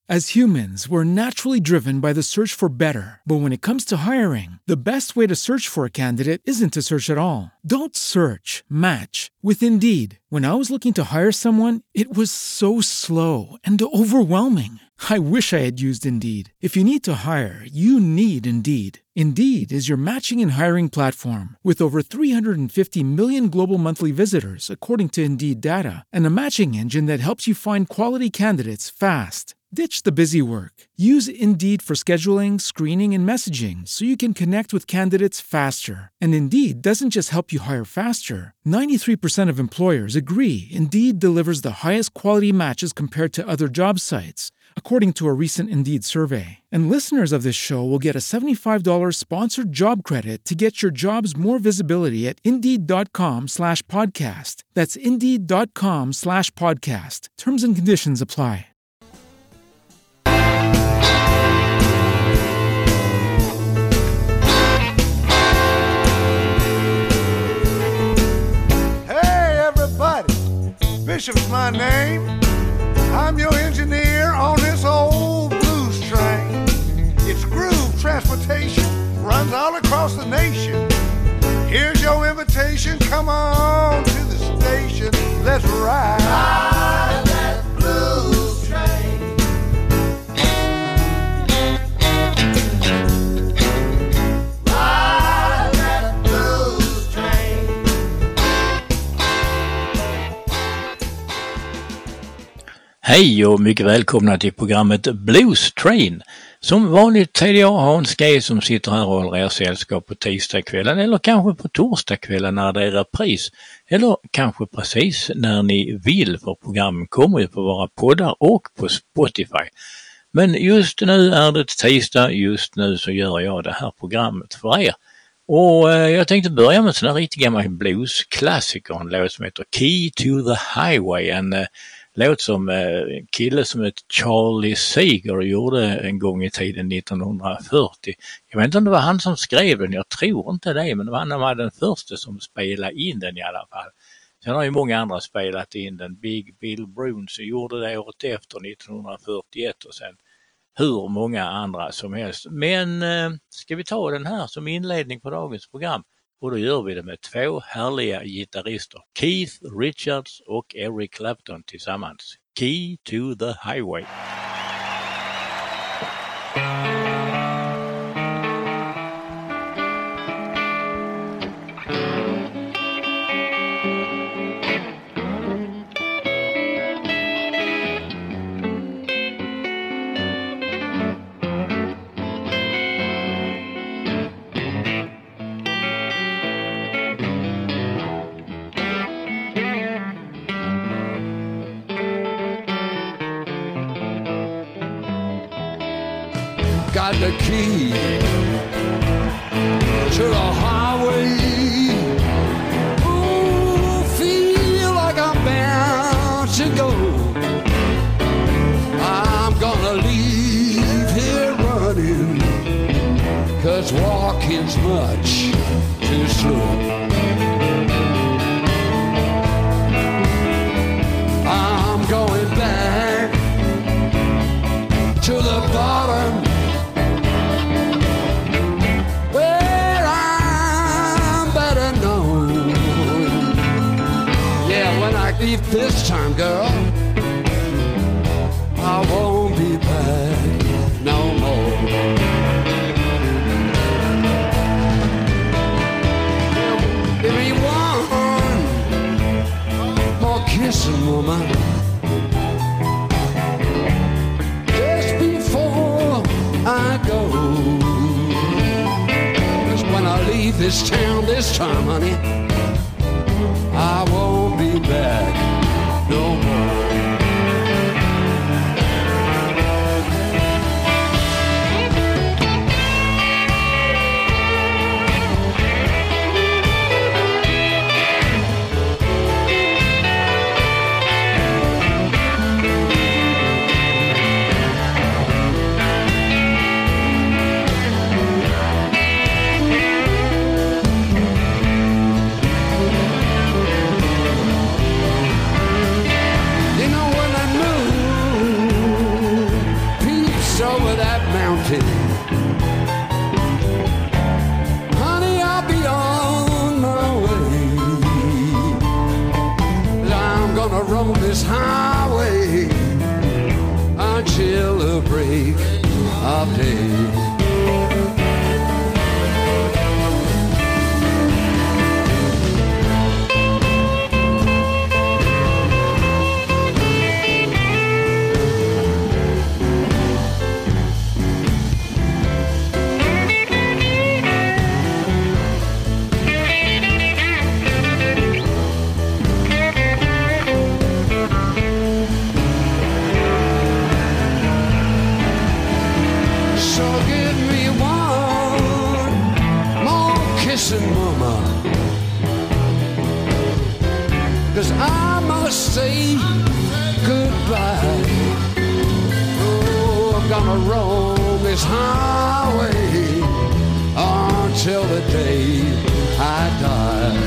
As humans, we're naturally driven by the search for better. But when it comes to hiring, the best way to search for a candidate isn't to search at all. Don't search, match with Indeed. When I was looking to hire someone, it was so slow and overwhelming. I wish I had used Indeed. If you need to hire, you need Indeed. Indeed is your matching and hiring platform with over 350 million global monthly visitors, according to Indeed data, and a matching engine that helps you find quality candidates fast. Ditch the busy work. Use Indeed for scheduling, screening, and messaging so you can connect with candidates faster. And Indeed doesn't just help you hire faster. 93% of employers agree Indeed delivers the highest quality matches compared to other job sites, according to a recent Indeed survey. And listeners of this show will get a $75 sponsored job credit to get your jobs more visibility at Indeed.com/podcast. That's Indeed.com/podcast. Terms and conditions apply. Bishop's my name. I'm your engineer on this old blues train. It's groove transportation, runs all across the nation. Here's your invitation, come on to the station. Let's ride. Ride that blues train. Ride that blues train. Hej och mycket välkomna till programmet Blues Train. Som vanligt är det jag, Hans G, som sitter här och håller er sällskap på tisdagskvällen eller kanske på torsdagskvällen när det är repris. Eller kanske precis när ni vill, för programmen kommer ju på våra poddar och på Spotify. Men just nu är det tisdag, just nu så gör jag det här programmet för er. Och jag tänkte börja med en sån här riktigt gammal bluesklassiker, en låt som heter Key to the Highway, en låt som kille som heter Charlie Seger gjorde en gång i tiden 1940. Jag vet inte om det var han som skrev den, jag tror inte det, men det var han som var den första som spelade in den i alla fall. Sen har ju många andra spelat in den. Big Bill Bruns gjorde det året efter 1941 och sen hur många andra som helst. Men ska vi ta den här som inledning på dagens program? Och då gör vi det med två härliga gitarrister, Keith Richards och Eric Clapton tillsammans. Key to the Highway. Got the key to the highway. Ooh, feel like I'm bound to go. I'm gonna leave here running, 'cause walking's much too slow. I'm going back to the bottom, this time, girl, I won't be back no more. Give me one more kissing, woman, just before I go. 'Cause when I leave this town this time, honey, I won't be back no more. empty. Honey, I'll be on my way. I'm gonna roam this highway until the break of day. Mama, 'cause I must say goodbye. Oh, I'm gonna roam this highway until the day I die.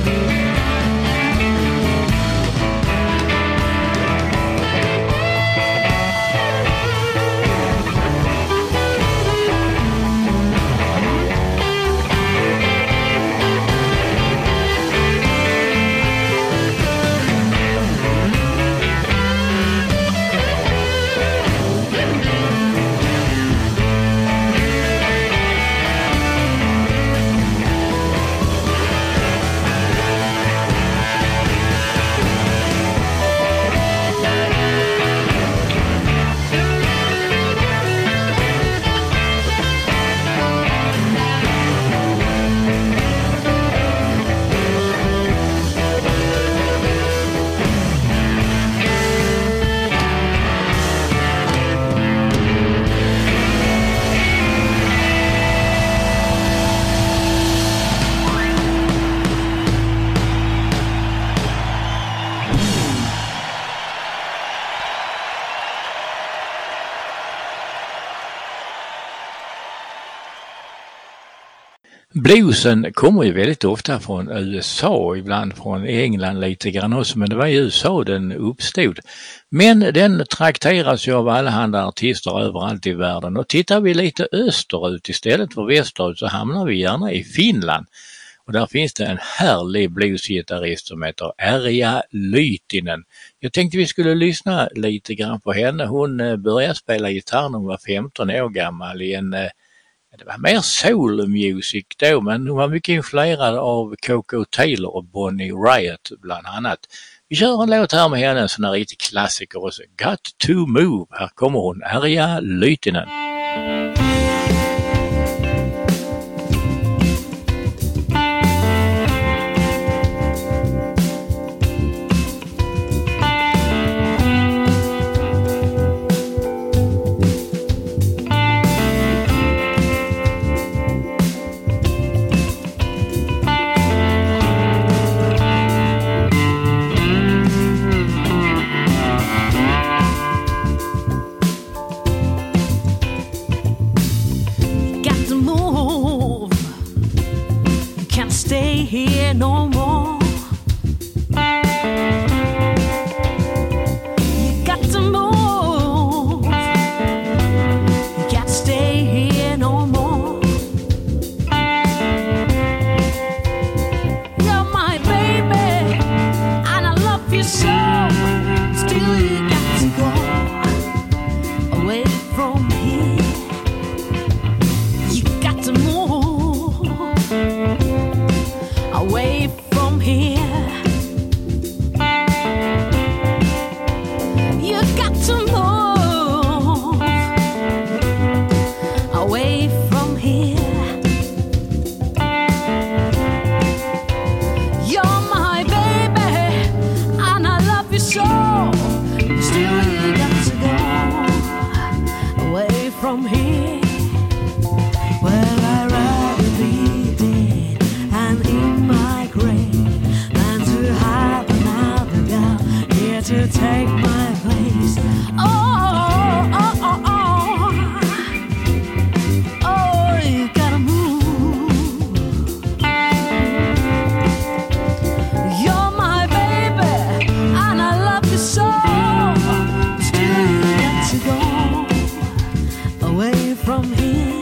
Bluesen kommer ju väldigt ofta från USA, ibland från England lite grann också, men det var i USA den uppstod. Men den trakteras ju av allehanda artister överallt i världen, och tittar vi lite österut istället för västerut så hamnar vi gärna i Finland. Och där finns det en härlig bluesgitarrist som heter Erja Lyytinen. Jag tänkte vi skulle lyssna lite grann på henne. Hon började spela gitarr när hon var 15 år gammal i en... Det var mer soul music då, men hon var mycket influerad av Coco Taylor och Bonnie Raitt bland annat. Vi kör en låt här med henne, en sån här riktig klassiker också. Got to Move. Här kommer hon, Erja Lyytinen. Here no more. You got to move. You can't stay here no more. You're my baby, and I love you so. Still you got to go away from here. You got to move away from here. You got to move away from here. You're my baby, and I love you so. Still you got to go away from here. Well, I'd rather be dead and in my grave than to have another girl here to take my place. Oh, oh, oh, oh, oh, you gotta move. You're my baby, and I love you so. Still you got to go away from here.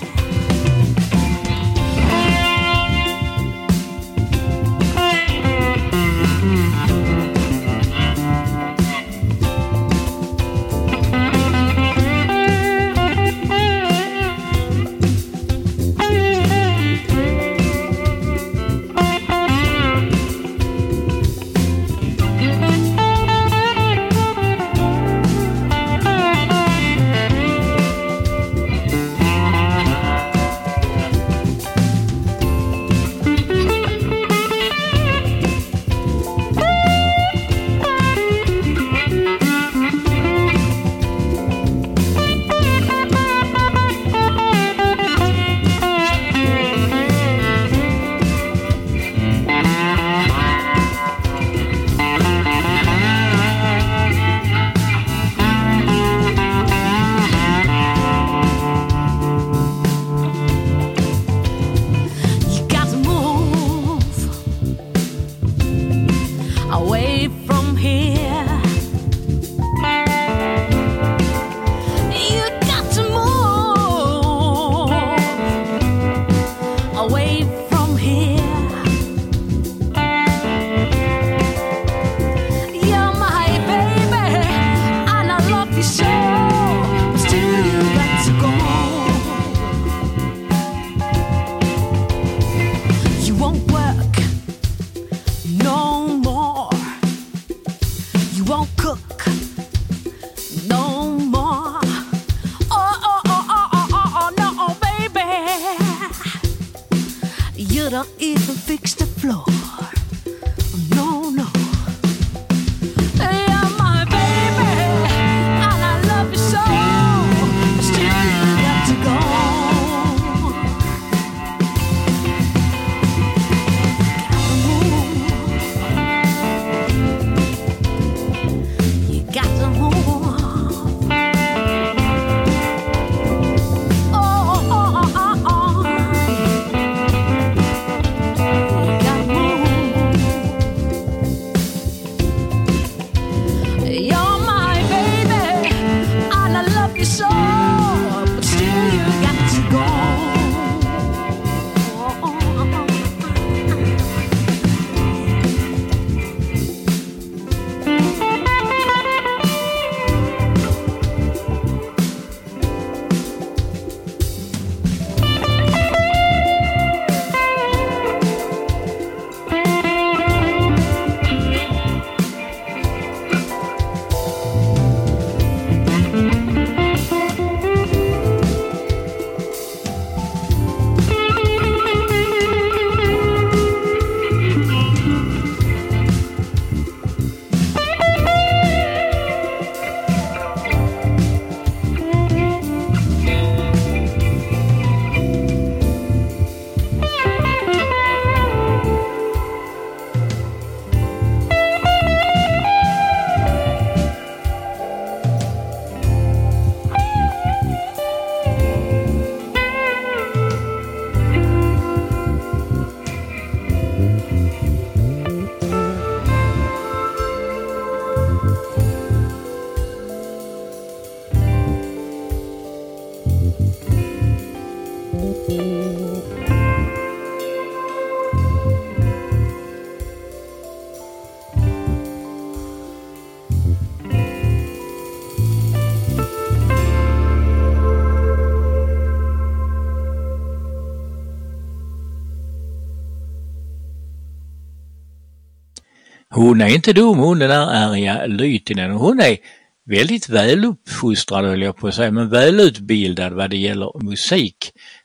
Hon är inte dum, hon den där Arja Lytinen. Hon är väldigt väluppfostrad, höll jag på att säga, men välutbildad vad det gäller musik.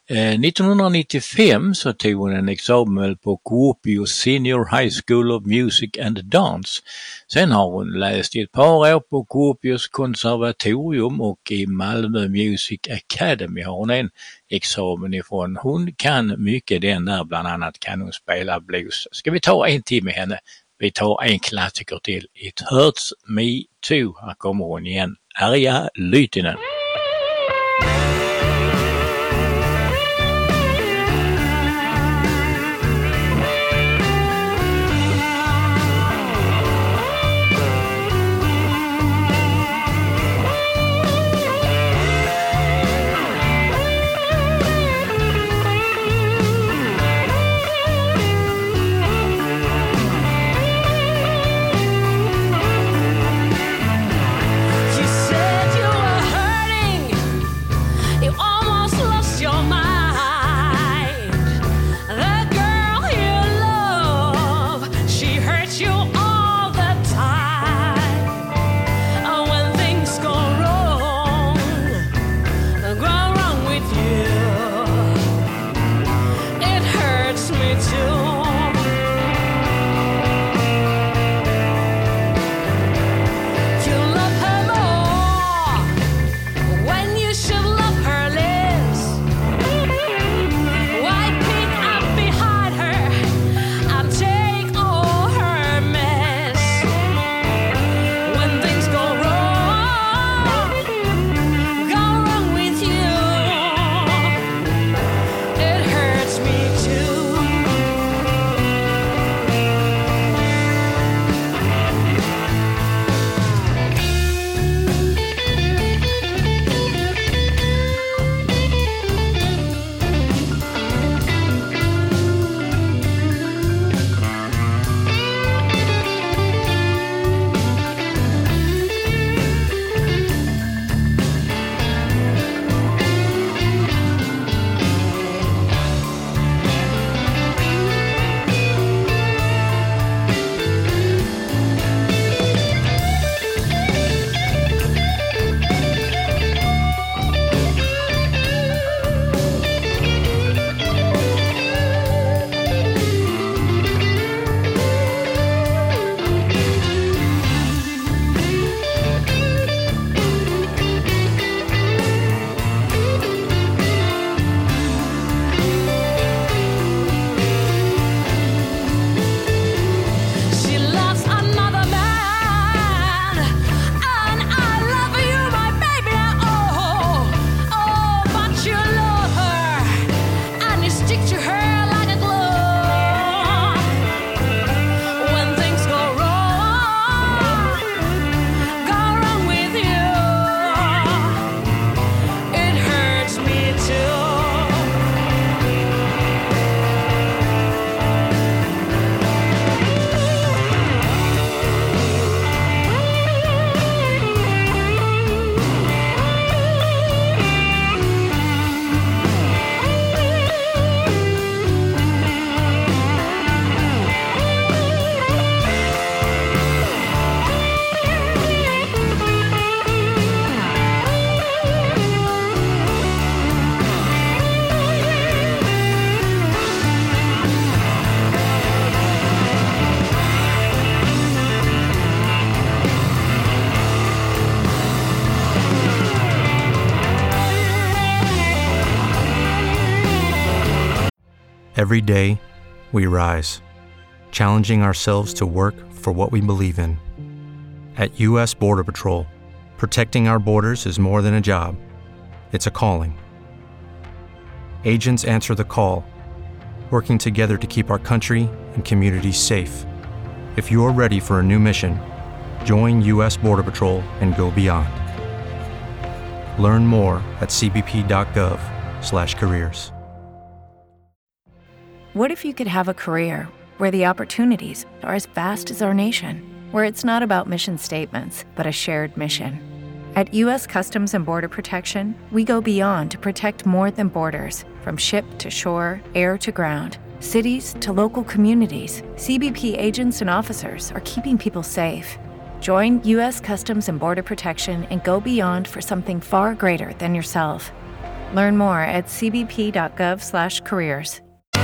1995 så tog hon en examen på Kuopio Senior High School of Music and Dance. Sen har hon läst i ett par år på Kuopios konservatorium och i Malmö Music Academy har hon en examen ifrån. Hon kan mycket den där, bland annat kan hon spela blues. Ska vi ta en till med henne? Vi tar en klassiker till. It Hurts Me Too. Här kommer hon igen. Arja Lytinen. Every day, we rise, challenging ourselves to work for what we believe in. At U.S. Border Patrol, protecting our borders is more than a job. It's a calling. Agents answer the call, working together to keep our country and communities safe. If you're ready for a new mission, join U.S. Border Patrol and go beyond. Learn more at cbp.gov/careers. What if you could have a career where the opportunities are as vast as our nation, where it's not about mission statements, but a shared mission? At U.S. Customs and Border Protection, we go beyond to protect more than borders. From ship to shore, air to ground, cities to local communities, CBP agents and officers are keeping people safe. Join U.S. Customs and Border Protection and go beyond for something far greater than yourself. Learn more at cbp.gov/careers.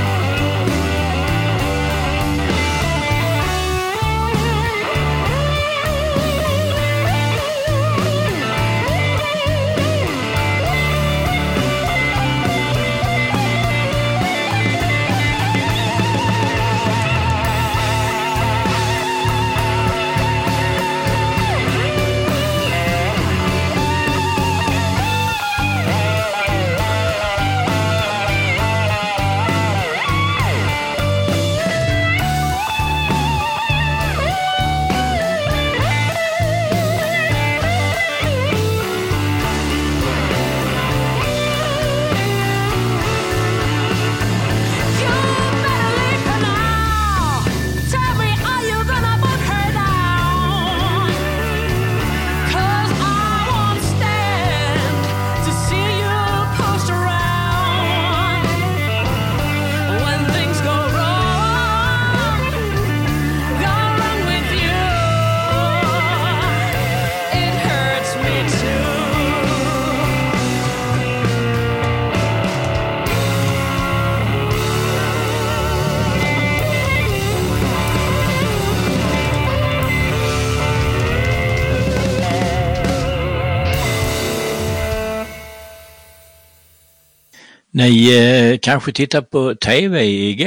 Ni kanske tittade på TV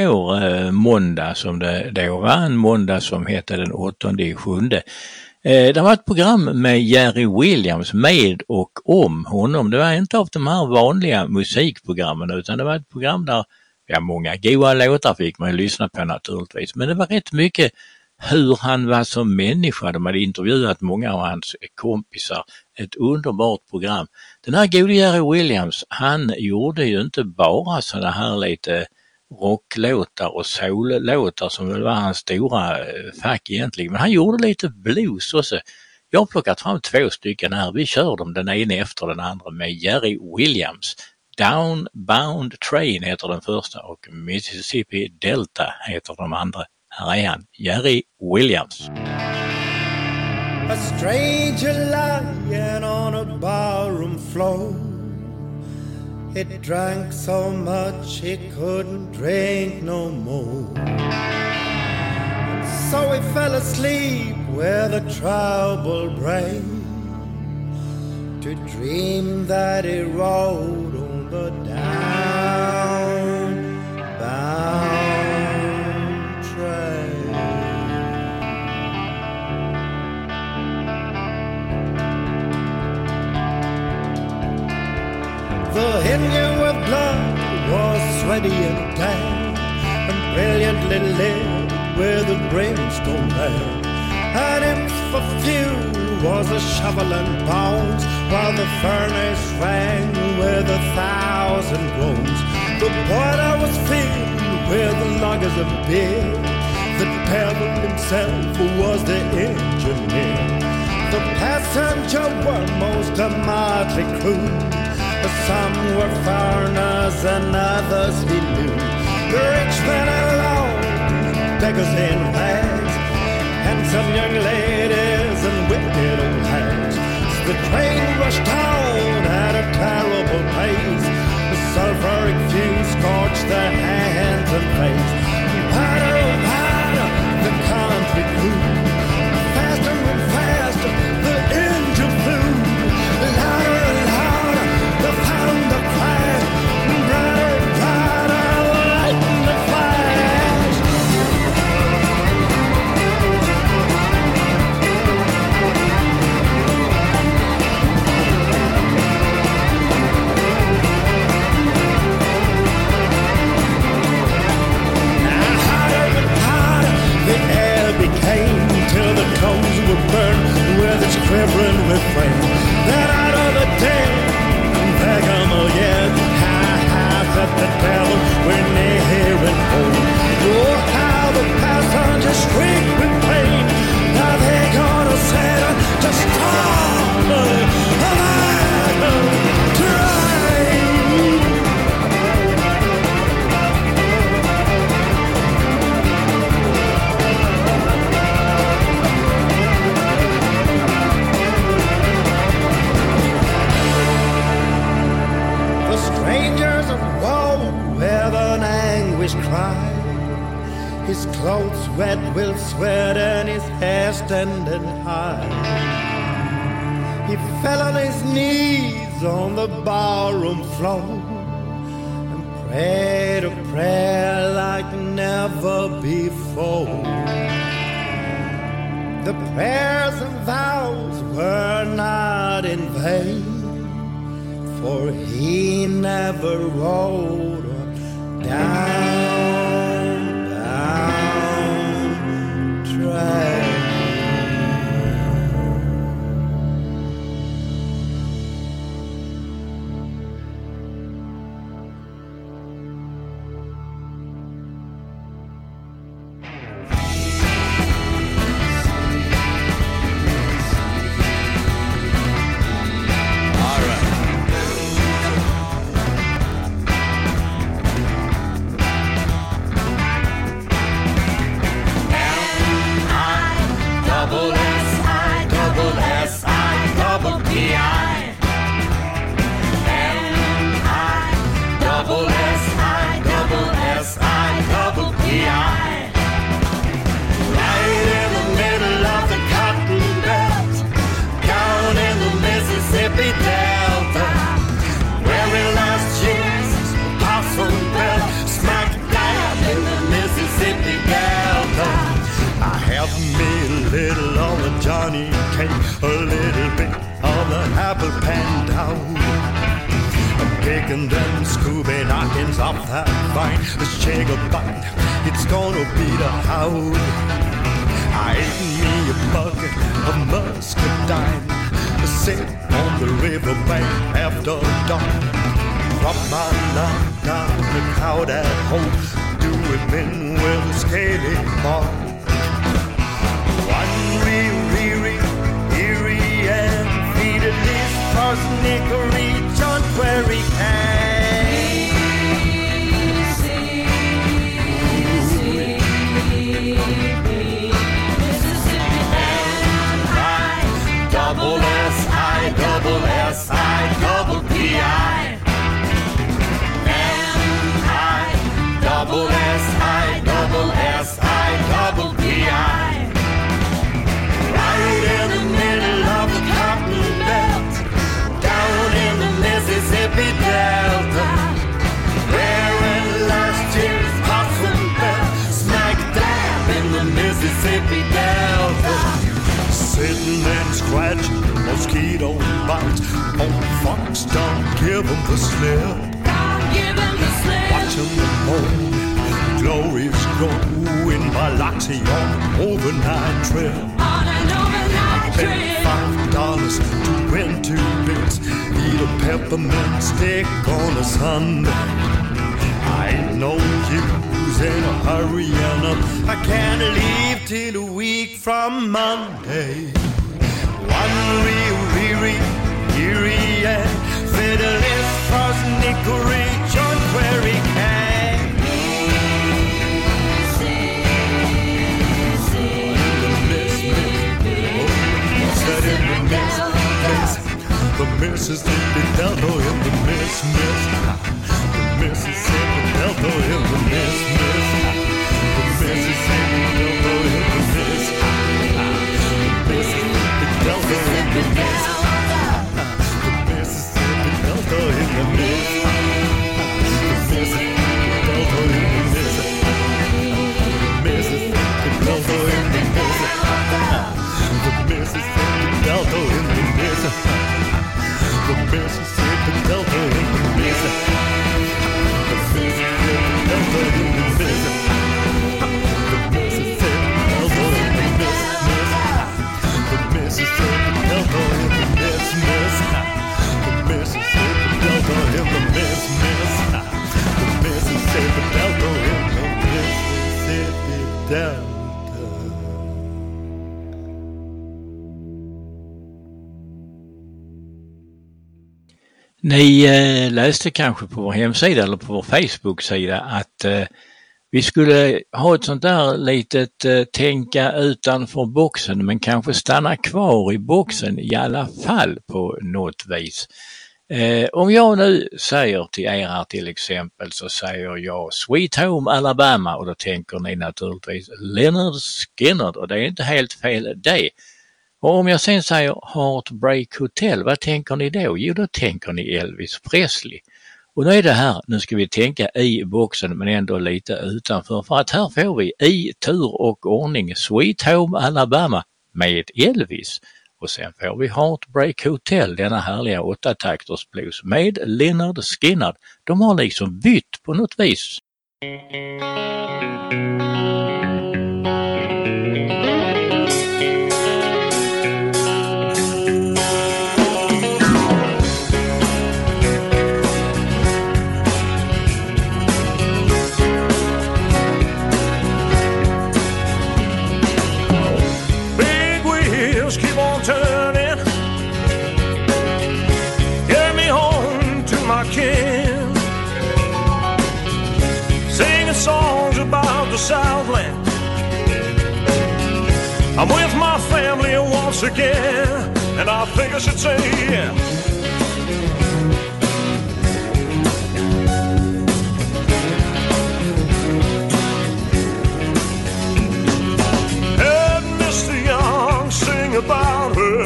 igår, måndag som det då var, en måndag som hette den 8/7. Det var ett program med Jerry Williams med och om honom. Det var inte av de här vanliga musikprogrammen utan det var ett program där många goda låtar fick man lyssna på naturligtvis. Men det var rätt mycket hur han var som människa. De hade intervjuat många av hans kompisar. Ett underbart program. Den här gode Jerry Williams, han gjorde ju inte bara sådana här lite rocklåtar och soul-låtar som väl var hans stora fack egentligen. Men han gjorde lite blues också. Jag har plockat fram 2 stycken här. Vi kör dem den ena efter den andra med Jerry Williams. Downbound Train heter den första och Mississippi Delta heter de andra. Här är han, Jerry Williams. A stranger lying on a barroom floor. He drank so much he couldn't drink no more. And so he fell asleep with a troubled brain, to dream that he rode on the downbound train. The engine with blood was sweaty and tan, and brilliantly lit with a brimstone lamp. And its for fuel was a shovel and bones, while the furnace rang with 1,000 groans. The boiler was filled with loggers of beer. The devil himself was the engineer. The passenger were most a motley crew. Some were foreigners and others he knew. The rich men alone, beggars in rags, and some young ladies and wicked old hags. So the train rushed on at a terrible pace. The sulphuric fumes scorched their hands and face. Harder and harder the country grew. Faster and faster the engine flew. Louder and louder the thunder crash. Brighter and brighter light in the an anguish cry. His clothes wet with sweat and his hair standing high. He fell on his knees on the barroom floor and prayed a prayer like never before. The prayers and vows were not in vain, for he never rode down train. Johnny cake, a little bit of the apple pan down. Picking them Scooby knockings off that vine. Let's shake a bite, it's gonna be the howl. I ate me a bucket of muscadine, sit on the riverbank after dark. Drop my knock down the crowd at home, do it men with a scaly mark. One eerie and feederless Parsnickary John Query right in the middle of the cotton belt, down in the Mississippi Delta, wearing last year's possum belt, smack dab in the Mississippi Delta, sitting and scratching mosquito bites on Fox, don't give them the slip, watching the moon. Glory's growing Biloxi on an overnight trip. On an overnight trip. $5 to win 2 bits. Eat a peppermint stick on a Sunday. I ain't no use in a hurry up. I can't leave till a week from Monday. One eerie and fiddleless Parsnickary John Query can. The Mississippi Delta in the miss. The Mississippi Delta in the miss. The Mississippi Delta in the miss. The Mississippi Delta in the miss. The Mississippi Delta in the miss. The Mississippi Delta in the miss. The Mississippi Delta in the miss. The Mississippi Delta in the miss. The Mississippi Delta in the miss. The Mississippi Delta in the miss. The Mississippi Delta in the miss. The Mississippi Delta in the miss. The Mississippi Delta in the miss. The Mississippi Delta in the Mississippi Delta. Ni läste kanske på vår hemsida eller på vår Facebook-sida att vi skulle ha ett sånt där litet tänka utanför boxen men kanske stanna kvar i boxen i alla fall på något vis. Om jag nu säger till er här till exempel, så säger jag Sweet Home Alabama, och då tänker ni naturligtvis Lynyrd Skynyrd, och det är inte helt fel det. Och om jag sen säger Heartbreak Hotel, vad tänker ni då? Jo, då tänker ni Elvis Presley. Och nu är det här, nu ska vi tänka i boxen men ändå lite utanför, för att här får vi i tur och ordning Sweet Home Alabama med Elvis. Och sen får vi Heartbreak Hotel, denna härliga 8-takters blues med Lynyrd Skynyrd. De har liksom bytt på något vis. Songs about the Southland. I'm with my family once again, and I think I should say yeah. Heard Mr. Young sing about her.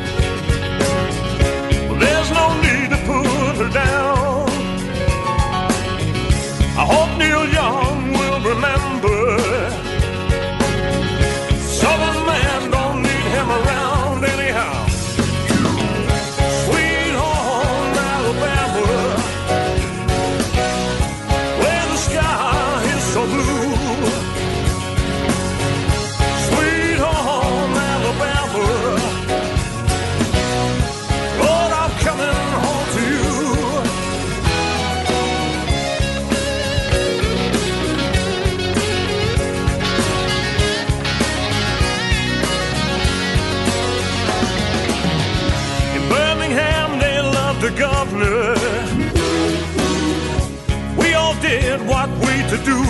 Well, there's no need to put her down. I hope Neil Young will remember, Southern man don't need him around anyhow. Sweet home Alabama, where the sky is so blue. Sweet home Alabama, Lord, I'm coming home to you. The governor, we all did what we to do.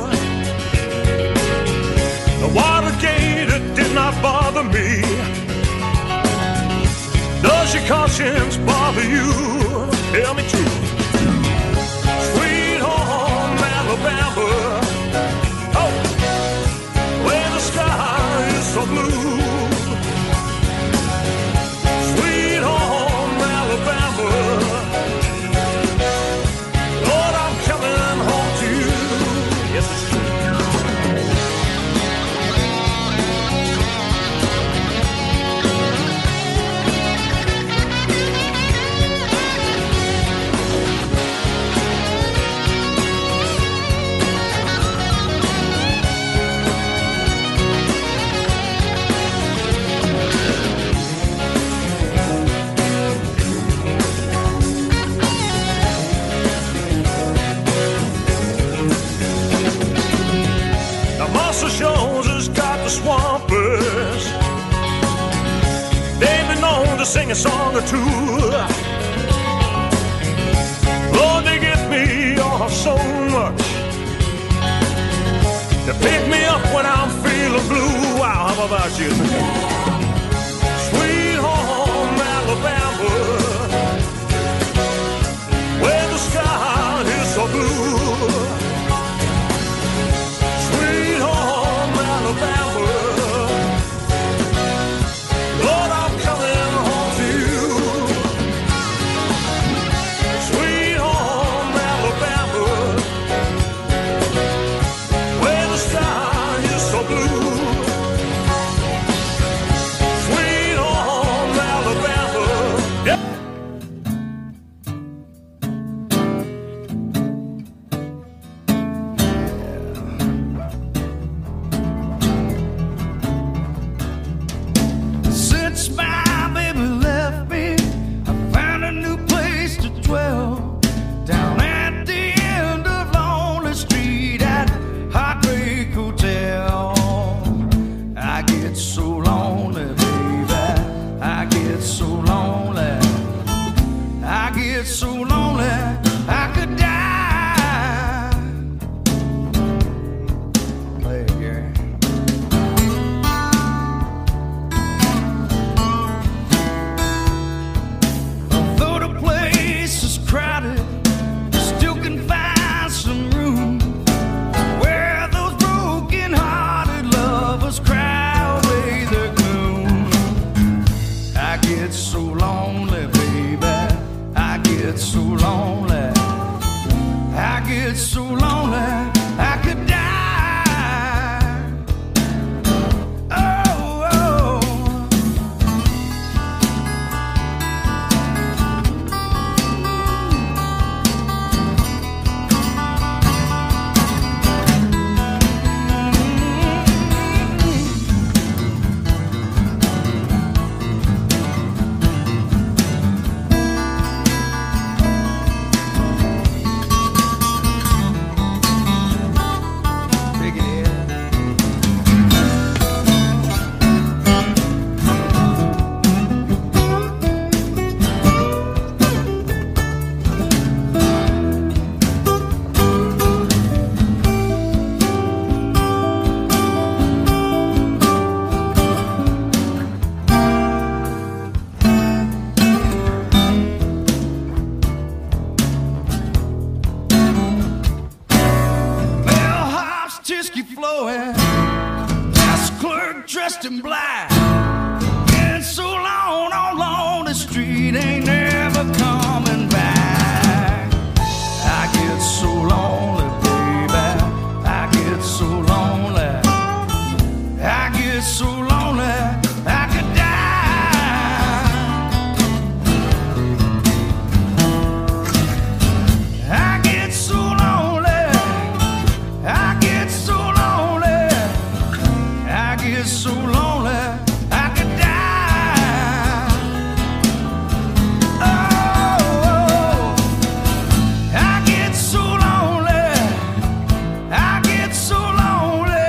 The Watergate, it did not bother me. Does your conscience bother you? Tell me true. Sweet home Alabama, oh, where the sky is so blue. Sweet home Alabama, Lord, I'm coming home to you. Yes, it's true. Jones has got the Swampers. They've been known to sing a song or two. Lord, they get me off so much. They pick me up when I'm feeling blue. Wow, how about you? Sweet home Alabama, where the sky is so blue. Alabama, Lord, I'm coming home to you. Sweet home Alabama, where the sky is so blue. so lonely. I get so lonely, I could die. Dressed in black, been so long on the street, ain't never coming back. I get so lonely, baby, I get so lonely, I get so lonely, I could die. I get so lonely, I get so lonely, I get so lonely, I could die. Oh, I get so lonely, I get so lonely.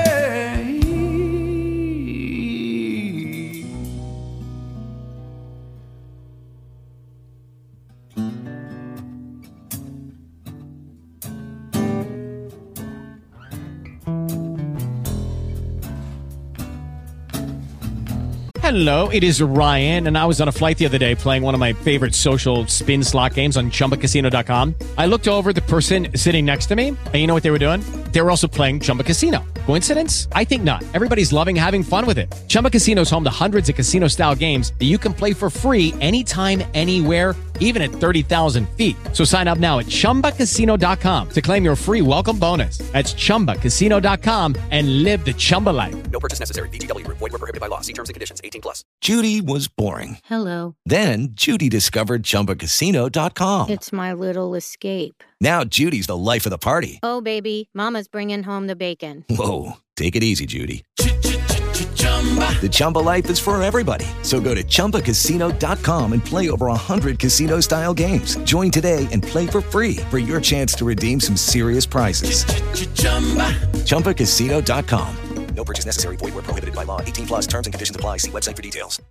Hello, it is Ryan, and I was on a flight the other day playing one of my favorite social spin slot games on ChumbaCasino.com. I looked over at the person sitting next to me, and you know what they were doing? They were also playing Chumba Casino. Coincidence? I think not. Everybody's loving having fun with it. Chumba Casino is home to hundreds of casino-style games that you can play for free anytime, anywhere, even at 30,000 feet. So sign up now at ChumbaCasino.com to claim your free welcome bonus. That's ChumbaCasino.com and live the Chumba life. No purchase necessary. VGW. Void where prohibited by law. See terms and conditions. 18+. Judy was boring. Hello. Then Judy discovered ChumbaCasino.com. It's my little escape. Now Judy's the life of the party. Oh, baby, mama's bringing home the bacon. Whoa, take it easy, Judy. The Chumba life is for everybody. So go to ChumbaCasino.com and play over 100 casino-style games. Join today and play for free for your chance to redeem some serious prizes. ChumbaCasino.com. No purchase necessary. Void where prohibited by law. 18+. Terms and conditions apply. See website for details.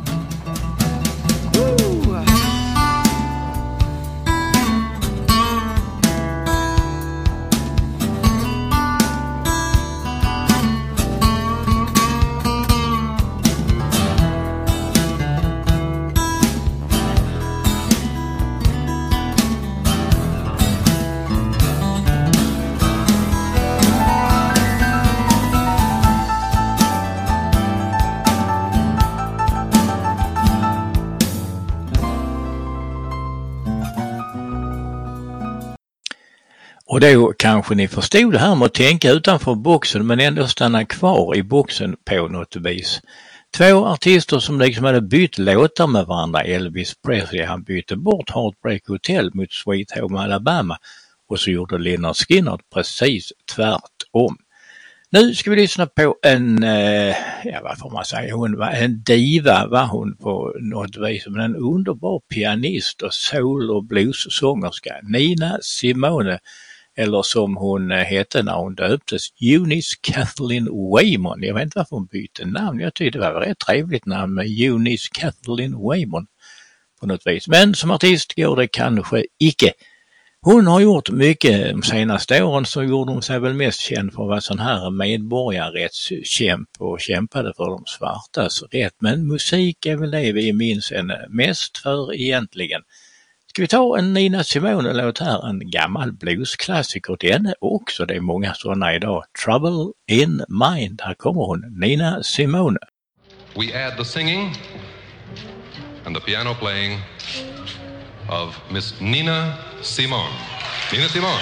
Och då kanske ni förstod det här med att tänka utanför boxen men ändå stanna kvar i boxen på något vis. Två artister som liksom hade bytt låtar med varandra. Elvis Presley, han bytte bort Heartbreak Hotel mot Sweet Home Alabama och så gjorde Lynyrd Skynyrd precis tvärtom. Nu ska vi lyssna på en, vad får man säga, hon var en diva var hon på något vis, men en underbar pianist och soul- och blues-sångerska, Nina Simone, eller som hon hette när hon döptes, Eunice Kathleen Waymon. Jag vet inte varför hon bytte namn, jag tyckte det var ett trevligt namn med Eunice Kathleen Waymon på något vis, men som artist går det kanske icke. Hon har gjort mycket de senaste åren, så gjorde hon sig väl mest känd för att vara sån här medborgarrättskämp och kämpade för de svartas rätt. Men musik är väl det vi minns henne mest för egentligen. Ska vi ta en Nina Simone-låt här, en gammal bluesklassiker, den är också, det är många sådana idag. Trouble in Mind, här kommer hon, Nina Simone. We add the singing and the piano playing of Miss Nina Simone. Nina Simone.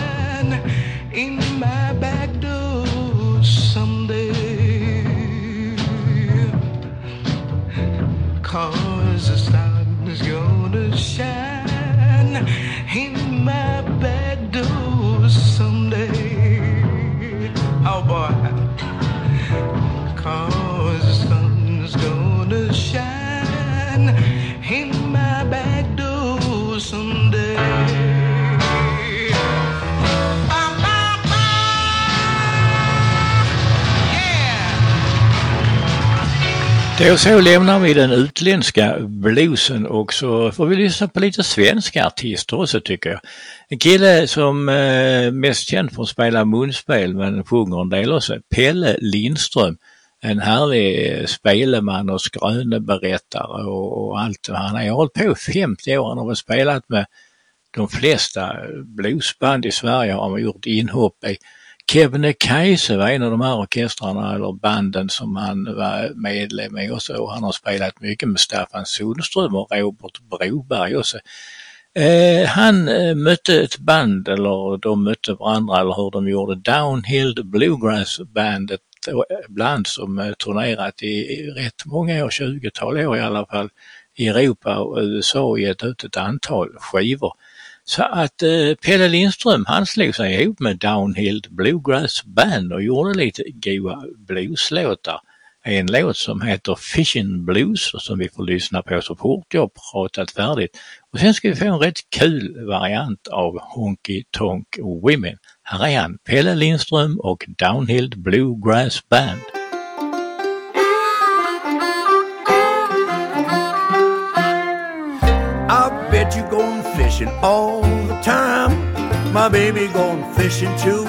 in my back door someday. 'cause the sun is gonna shine in my back door someday. Oh boy, 'cause the sun is gonna shine in my back door someday. Då så lämnar vi den utländska bluesen och så får vi lyssna på lite svenska artister också tycker jag. En kille som mest känd för att spela munspel men sjunger en del också, Pelle Lindström. En härlig speleman och skröneberättare och allt. Han har hållit på 50 år, han har spelat med de flesta bluesband i Sverige, har man gjort inhopp i. Kebnekaise var en av de här orkestrarna eller banden som han var medlem i också, och han har spelat mycket med Staffan Sundström och Robert Broberg också. Han mötte ett band, eller de mötte varandra, eller hur de gjorde, Downhill Bluegrass Band, ett band som turnerat i rätt många år, 20-tal år i alla fall, i Europa och USA och gett ut ett antal skivor. Så att Pelle Lindström, han slog sig ihop med Downhill Bluegrass Band och gjorde lite goa blueslåtar. En låt som heter Fishin' Blues och som vi får lyssna på så fort jag pratat färdigt. Och sen ska vi få en rätt kul variant av Honky Tonk Women. Här är han, Pelle Lindström och Downhill Bluegrass Band. I bet you going fishing all the time. My baby going fishing too.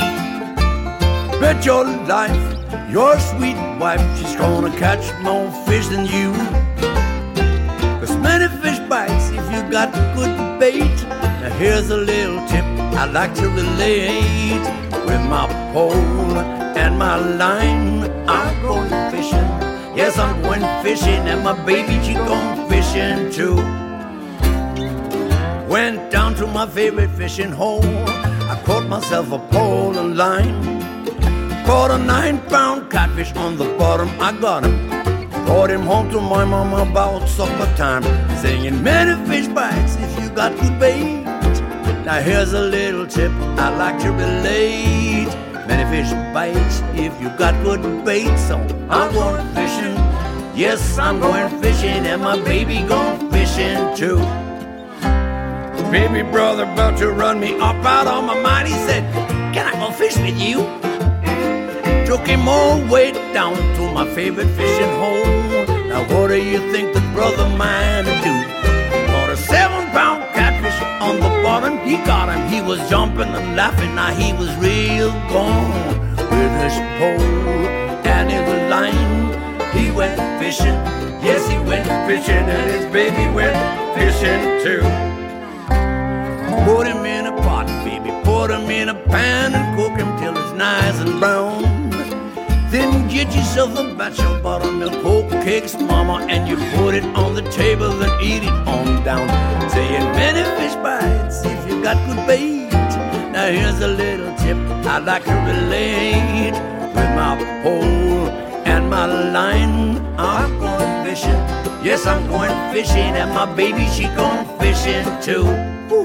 Bet your life, your sweet wife, she's gonna catch more fish than you. 'Cause many fish bites if you got good bait. Now here's a little tip I'd like to relate. With my pole and my line, I'm going fishing. Yes, I'm going fishing, and my baby, she going fishing too. Went down to my favorite fishing hole. I caught myself a pole and line. Caught a 9-pound catfish on the bottom. I got him. Brought him home to my mama about supper time. Singing many fish bites if you got good bait. Now here's a little tip I like to relate. Many fish bites if you got good bait. So I'm going fishing. Yes, I'm going fishing, and my baby going fishing too. Baby brother about to run me up out on my mind. He said, can I go fish with you? Took him all the way down to my favorite fishing hole. Now what do you think the brother mine to do? Caught a 7-pound catfish on the bottom. He got him, he was jumping and laughing. Now he was real gone. With his pole and his line, he went fishing. Yes, he went fishing, and his baby went fishing too. Put him in a pot, baby, put him in a pan and cook him till it's nice and brown. Then get yourself a batch of buttermilk Coke cakes, mama, and you put it on the table and eat it on down. Saying many fish bites if you got good bait. Now here's a little tip I'd like to relate. With my pole and my line, I'm going fishing. Yes, I'm going fishing, and my baby, she going fishing too. Woo.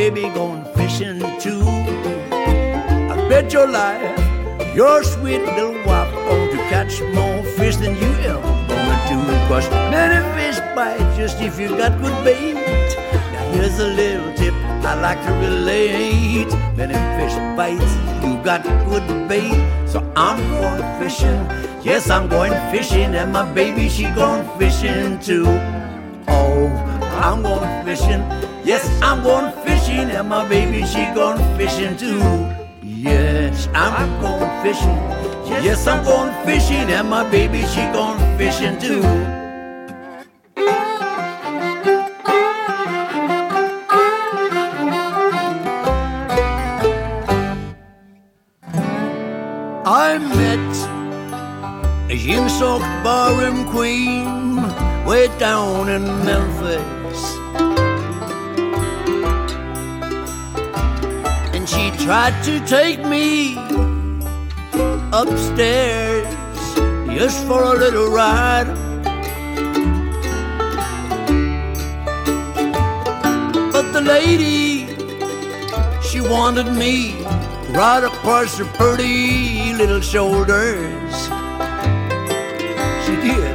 baby going fishing too. I bet your life, your sweet little wife going to catch more fish than you ever gonna do. 'Cause many fish bite just if you got good bait. Now here's a little tip I like to relate. Many fish bites, you got good bait. So I'm going fishing, yes I'm going fishing, and my baby she going fishing too. Oh, I'm going fishing, yes I'm going fishing, and my baby she going fishing too. Yes, I'm going fishing, yes I'm going fishing, and my baby she going fishing too. I met a yin-soaked barroom queen way down in Memphis, and she tried to take me upstairs just for a little ride. But the lady, she wanted me right across her pretty little shoulders. She did.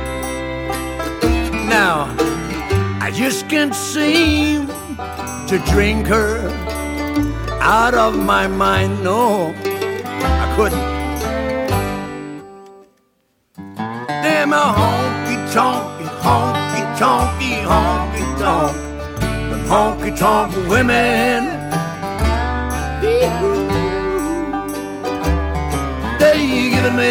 Now, I just can't seem to drink her out of my mind. No, I couldn't. Them a honky-tonky, honky-tonky, honky-tonk. Them honky-tonk women. They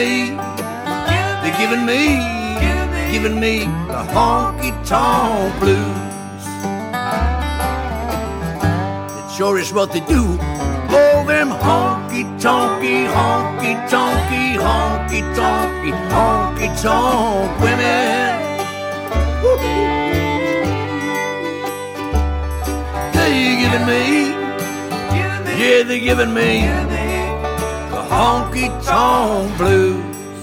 giving me the honky-tonk blues. It sure is what they do. Oh, them honky-tonky, honky-tonky, honky-tonky, honky-tonk women. They giving me, yeah, they giving me the honky-tonk blues.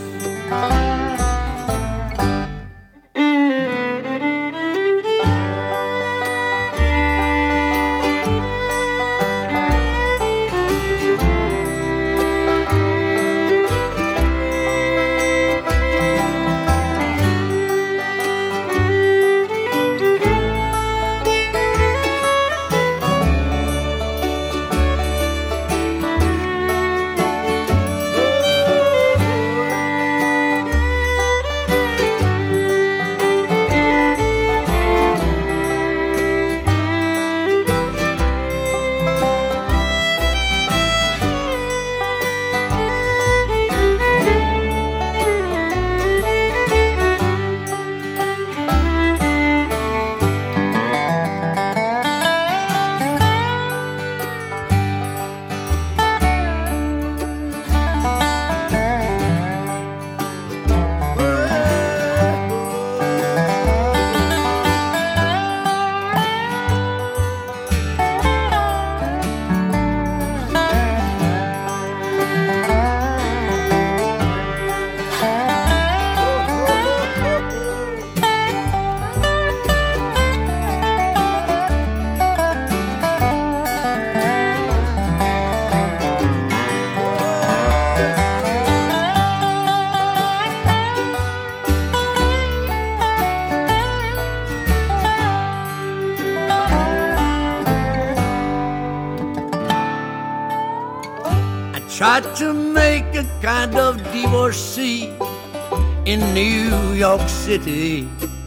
Tried to make a kind of divorcee in New York City,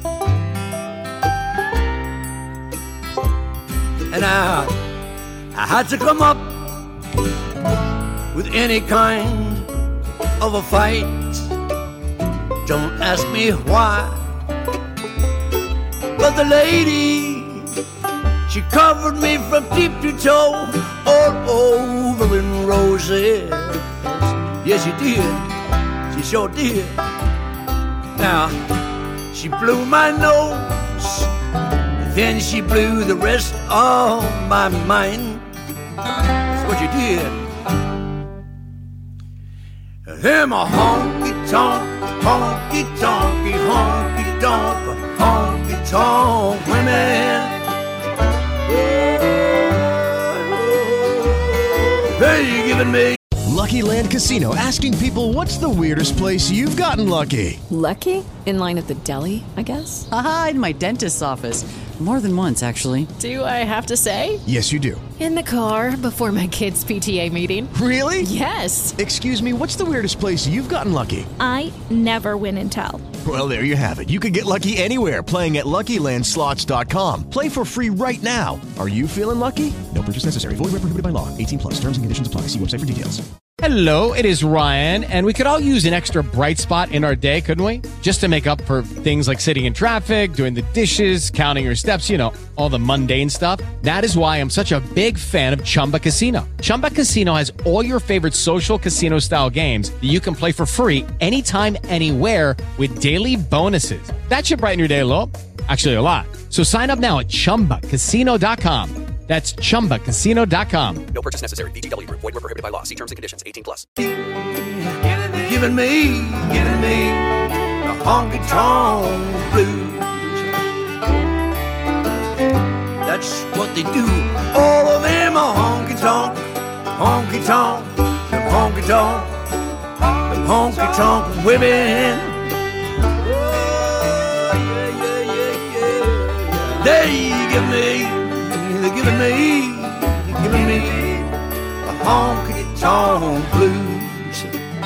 and I had to come up with any kind of a fight. Don't ask me why, but the lady, she covered me from tip to toe, all over in roses. Yes, she did. She sure did. Now, she blew my nose, then she blew the rest of my mind. That's what she did. Them a honky-tonk, honky-tonky, honky-tonk, honky-tonk women. giving me. Lucky Land Casino, asking people, what's the weirdest place you've gotten lucky? Lucky? In line at the deli, I guess? Aha, in my dentist's office. More than once, actually. Do I have to say? Yes, you do. In the car before my kids' PTA meeting. Really? Yes. Excuse me, what's the weirdest place you've gotten lucky? I never win and tell. Well, there you have it. You can get lucky anywhere, playing at LuckyLandSlots.com. Play for free right now. Are you feeling lucky? No purchase necessary. Void where prohibited by law. 18 plus. Terms and conditions apply. See website for details. Hello, it is Ryan, and we could all use an extra bright spot in our day, couldn't we? Just to make up for things like sitting in traffic, doing the dishes, counting your steps, you know, all the mundane stuff. That is why I'm such a big fan of Chumba Casino. Chumba Casino has all your favorite social casino-style games that you can play for free anytime, anywhere with daily bonuses. That should brighten your day a little. Actually, a lot. So sign up now at ChumbaCasino.com. That's ChumbaCasino.com. No purchase necessary. VGW Group. Void where prohibited by law. See terms and conditions. 18 plus. Giving me the honky-tonk blues. That's what they do. All of them are honky-tonk, honky-tonk, them honky-tonk, them honky-tonk women. Oh, yeah. They give me. They're giving me the honky-tonk blues.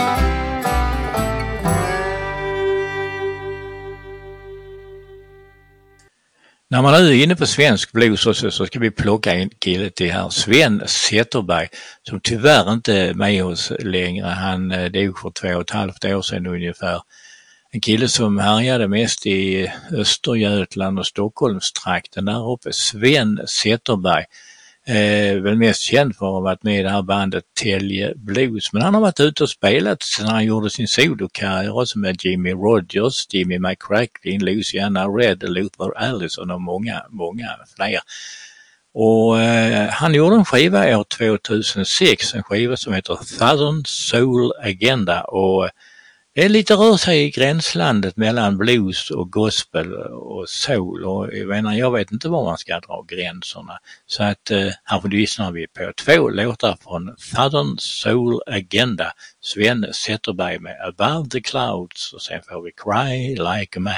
När man är inne på svensk blues så ska vi plocka en kille till här, Sven Zetterberg, som tyvärr inte är med oss längre. Han dog för 2,5 år sedan ungefär. En kille som härjade mest i Östergötland och Stockholmstrakten där uppe, Sven Zetterberg. Väl mest känd för att ha varit med i det här bandet Tälje Blues. Men han har varit ute och spelat sedan han gjorde sin solokarriär också med Jimmy Rogers, Jimmy McCracklin, Luciana Red, Luther Allison och många fler. Och han gjorde en skiva år 2006, en skiva som heter Southern Soul Agenda, och det är lite rör sig i gränslandet mellan blues och gospel och soul, och jag vet inte var man ska dra gränserna. Så att här lyssnar vi på 2 låtar från Southern Soul Agenda, Sven Zetterberg med Above the Clouds, och sen får vi Cry Like a Man.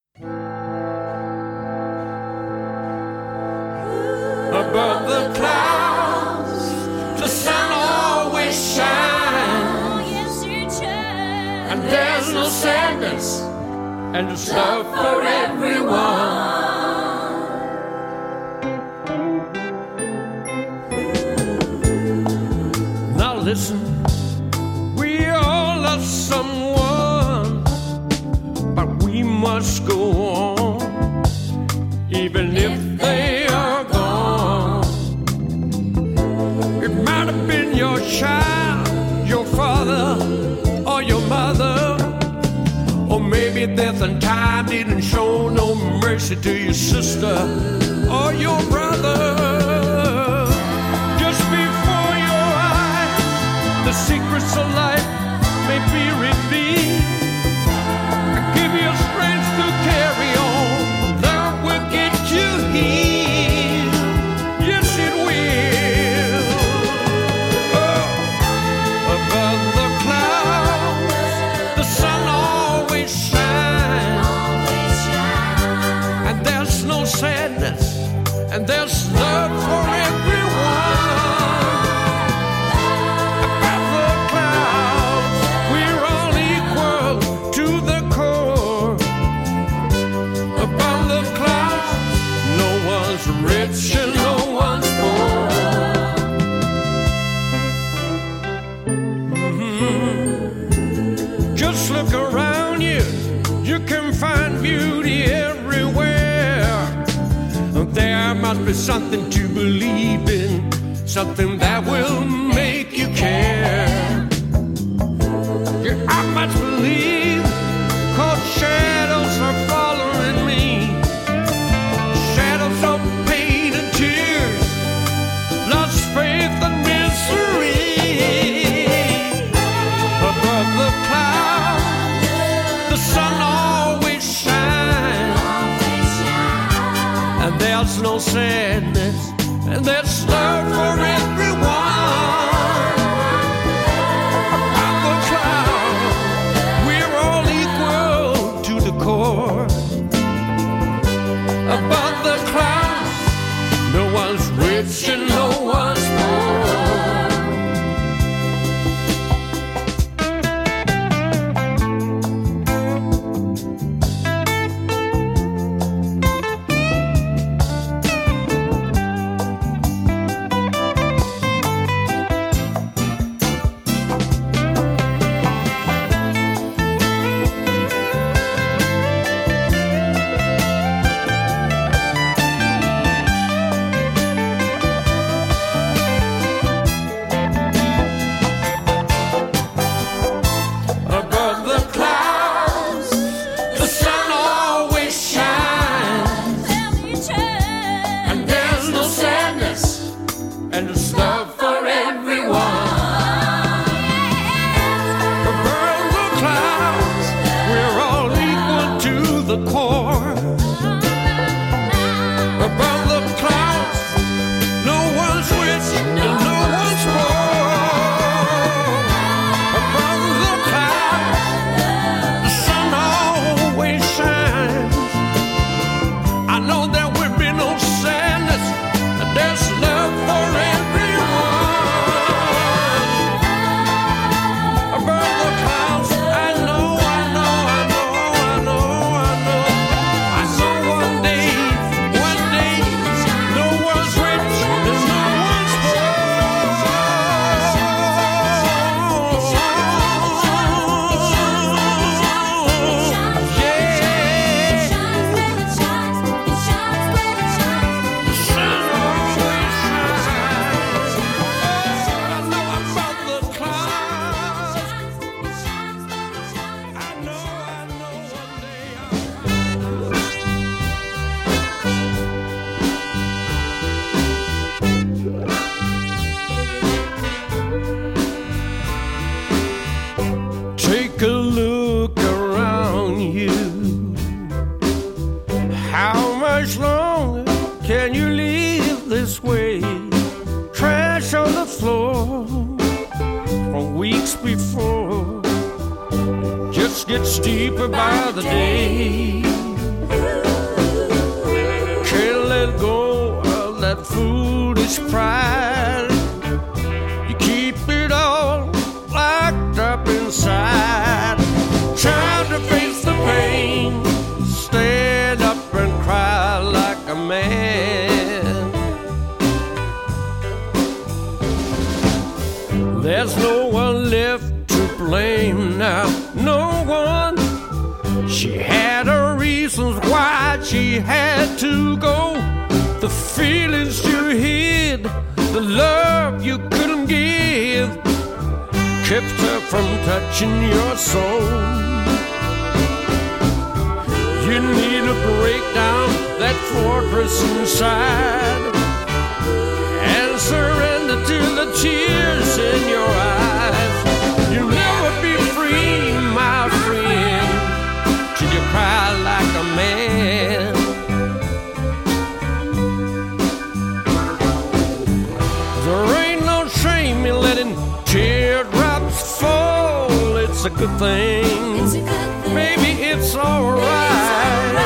Above the clouds, the sun always shines. And there's no sadness, and it's love for everyone. Now listen, we all love someone, but we must go on, even if they are gone. It might have been your child, your father, or your mother, or maybe death and time didn't show no mercy to your sister or your brother. Just before your eyes, the secrets of life may be revealed. Give you strength to carry on, that will get you healed. Yes, it will. Oh, above the clouds, the sun always shines, and there's no sadness, and there's love for everyone. Above the clouds, we're all equal to the core. Above the clouds, no one's rich and no one's poor. Just look around you, you can find beauty everywhere. There must be something to believe in, something that will make you care. Yeah, I must believe, 'cause shadows are following me. Shadows of pain and tears, lost faith and misery. Above the clouds, the sun always shines, and there's no sadness, and there's love for everyone. weeks before. It just gets deeper by the day. Can't let go of that foolish pride. You keep it all locked up inside. Time to face the pain. Stand up and cry like a man. There's no one left to blame now, no one. She had her reasons why she had to go. The feelings you hid, the love you couldn't give, kept her from touching your soul. You need to break down that fortress inside and surrender to the tears in your eyes. You'll never be free, my friend, till you cry like a man. There ain't no shame in letting teardrops fall. It's a good thing. Maybe it's alright.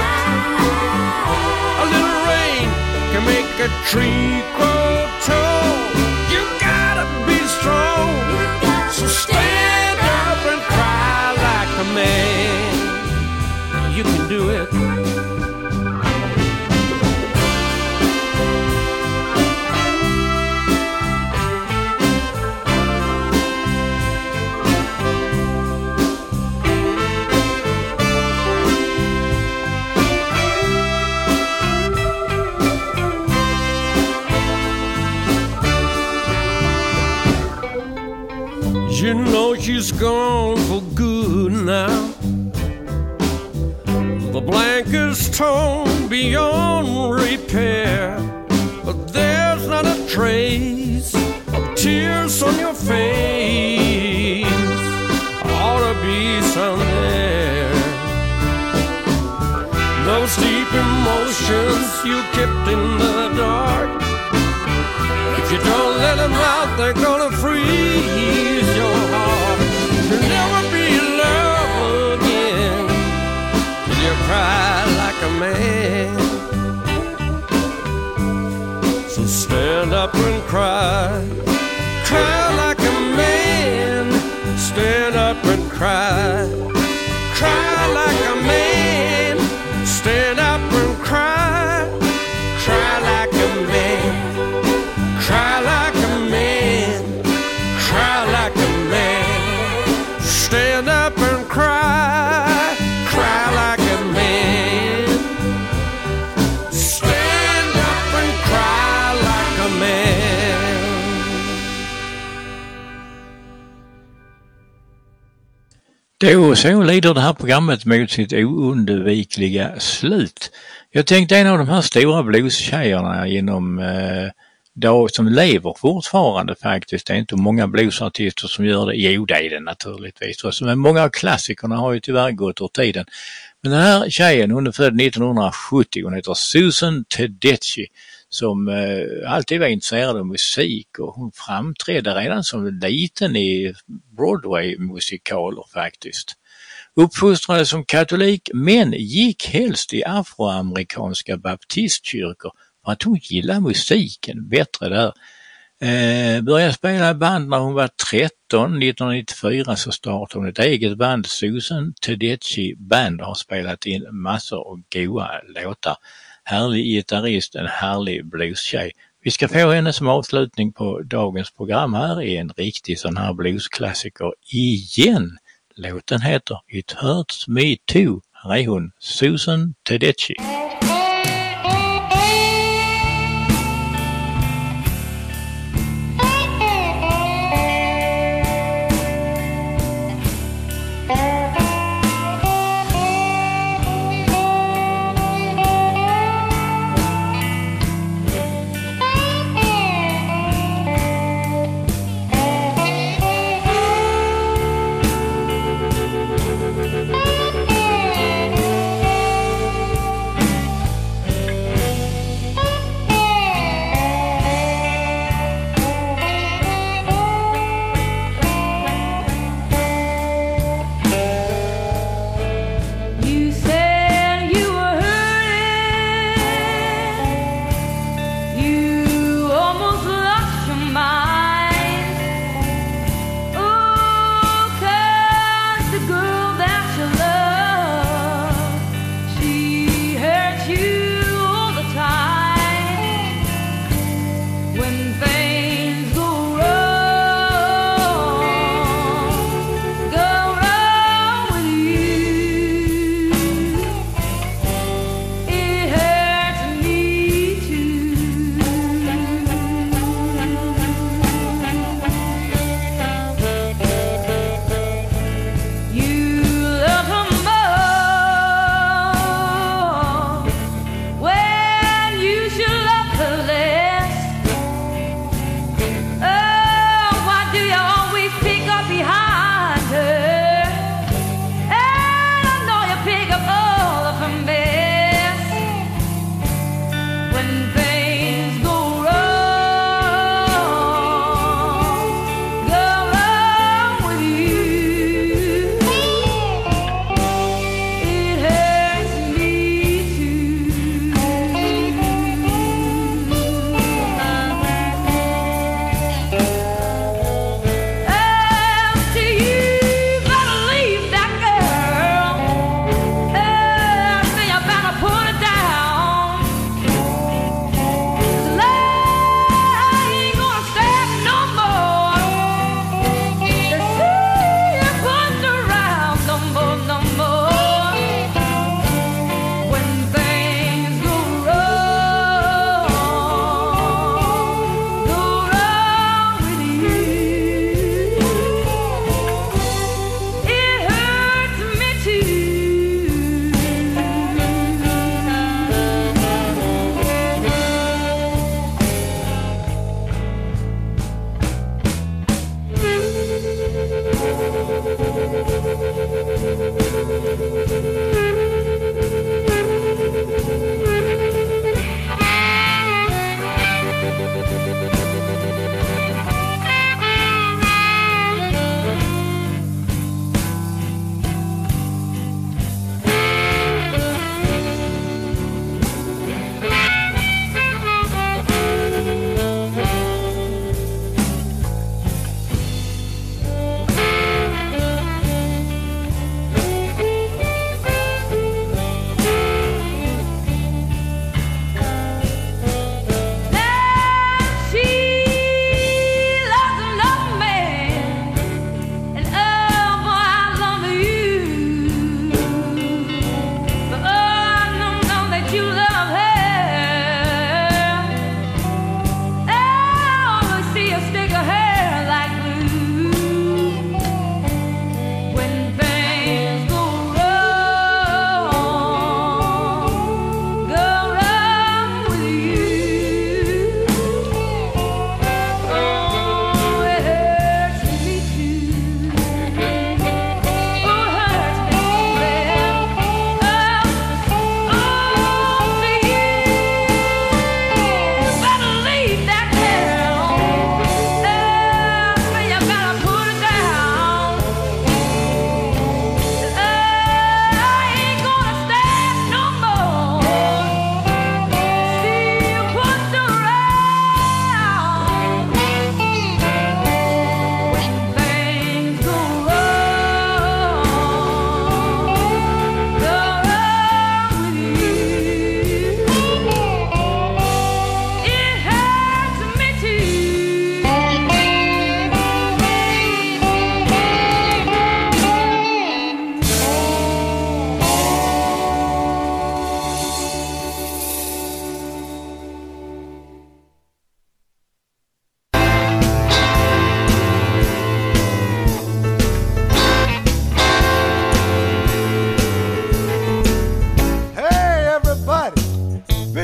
A little rain can make a tree grow tall. You gotta be strong. So stand up and cry like a man. You can do it. You know she's gone for good now. The blanket's torn beyond repair, but there's not a trace of tears on your face. Ought to be some there. Those deep emotions you kept in the dark, if you don't let them out, they're gonna freeze your heart. You'll never be in love again till you cry like a man. So stand up and cry, cry like a man. Stand up and cry, cry like a man. Stand up and cry, cry like a man. Cry like a man, cry like a man. Stand up and cry, cry like a man. Stand up and cry like a man. Då så lider det här programmet mot sitt oundvikliga slut. Jag tänkte en av de här stora bluestjejerna genom dag som lever fortfarande faktiskt. Det är inte många bluesartister som gör det. Jo, det är det naturligtvis. Men många av klassikerna har ju tyvärr gått ur tiden. Men den här tjejen, hon är född 1970. Hon heter Susan Tedeschi, som alltid var intresserad av musik, och hon framträdde redan som liten i Broadway-musikaler faktiskt. Uppfostrade som katolik, men gick helst i afroamerikanska baptistkyrkor för att hon gillar musiken bättre där. Började spela band när hon var 13. 1994 så startade hon ett eget band, Susan Tedeschi Band, och har spelat in massor av goa låtar. Härlig gitarrist, en härlig bluestjej. Vi ska få henne som avslutning på dagens program här i en riktig sån här bluesklassiker igen. Låten heter It Hurts Me Too. Här är hon, Susan Tedeschi.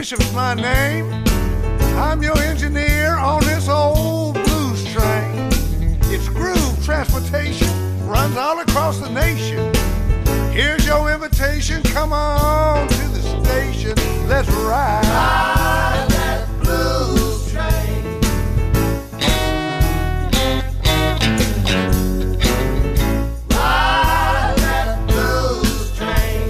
Bishop's my name. I'm your engineer on this old blues train. It's groove transportation, runs all across the nation. Here's your invitation, come on to the station. Let's ride. Ride that blues train. Ride that blues train.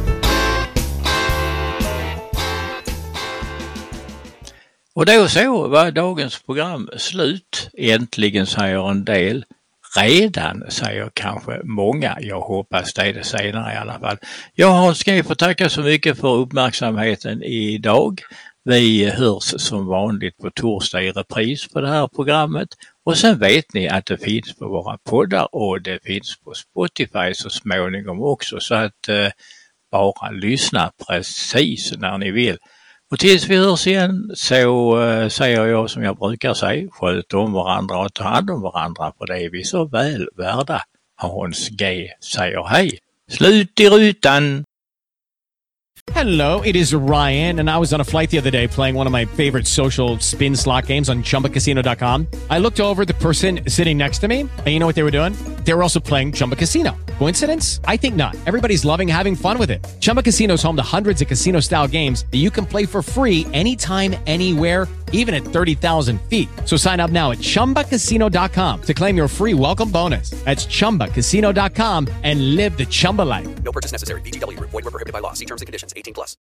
Och då så var dagens program slut. Äntligen säger en del. Redan säger kanske många. Jag hoppas det senare i alla fall. Jag Hans G får tacka så mycket för uppmärksamheten idag. Vi hörs som vanligt på torsdag i repris på det här programmet. Och sen vet ni att det finns på våra poddar och det finns på Spotify så småningom också. Så att bara lyssna precis när ni vill. Och tills vi hörs igen så säger jag som jag brukar säga, sköt om varandra och ta hand om varandra, för det är vi så väl värda. Hans G säger hej. Slut i rutan! Hello, it is Ryan, and I was on a flight the other day playing one of my favorite social spin slot games on ChumbaCasino.com. I looked over at the person sitting next to me, and you know what they were doing? They were also playing Chumba Casino. Coincidence? I think not. Everybody's loving having fun with it. Chumba Casino is home to hundreds of casino-style games that you can play for free anytime, anywhere, even at 30,000 feet. So sign up now at ChumbaCasino.com to claim your free welcome bonus. That's ChumbaCasino.com and live the Chumba life. No purchase necessary. VGW. Void where prohibited by law. See terms and conditions. 18+.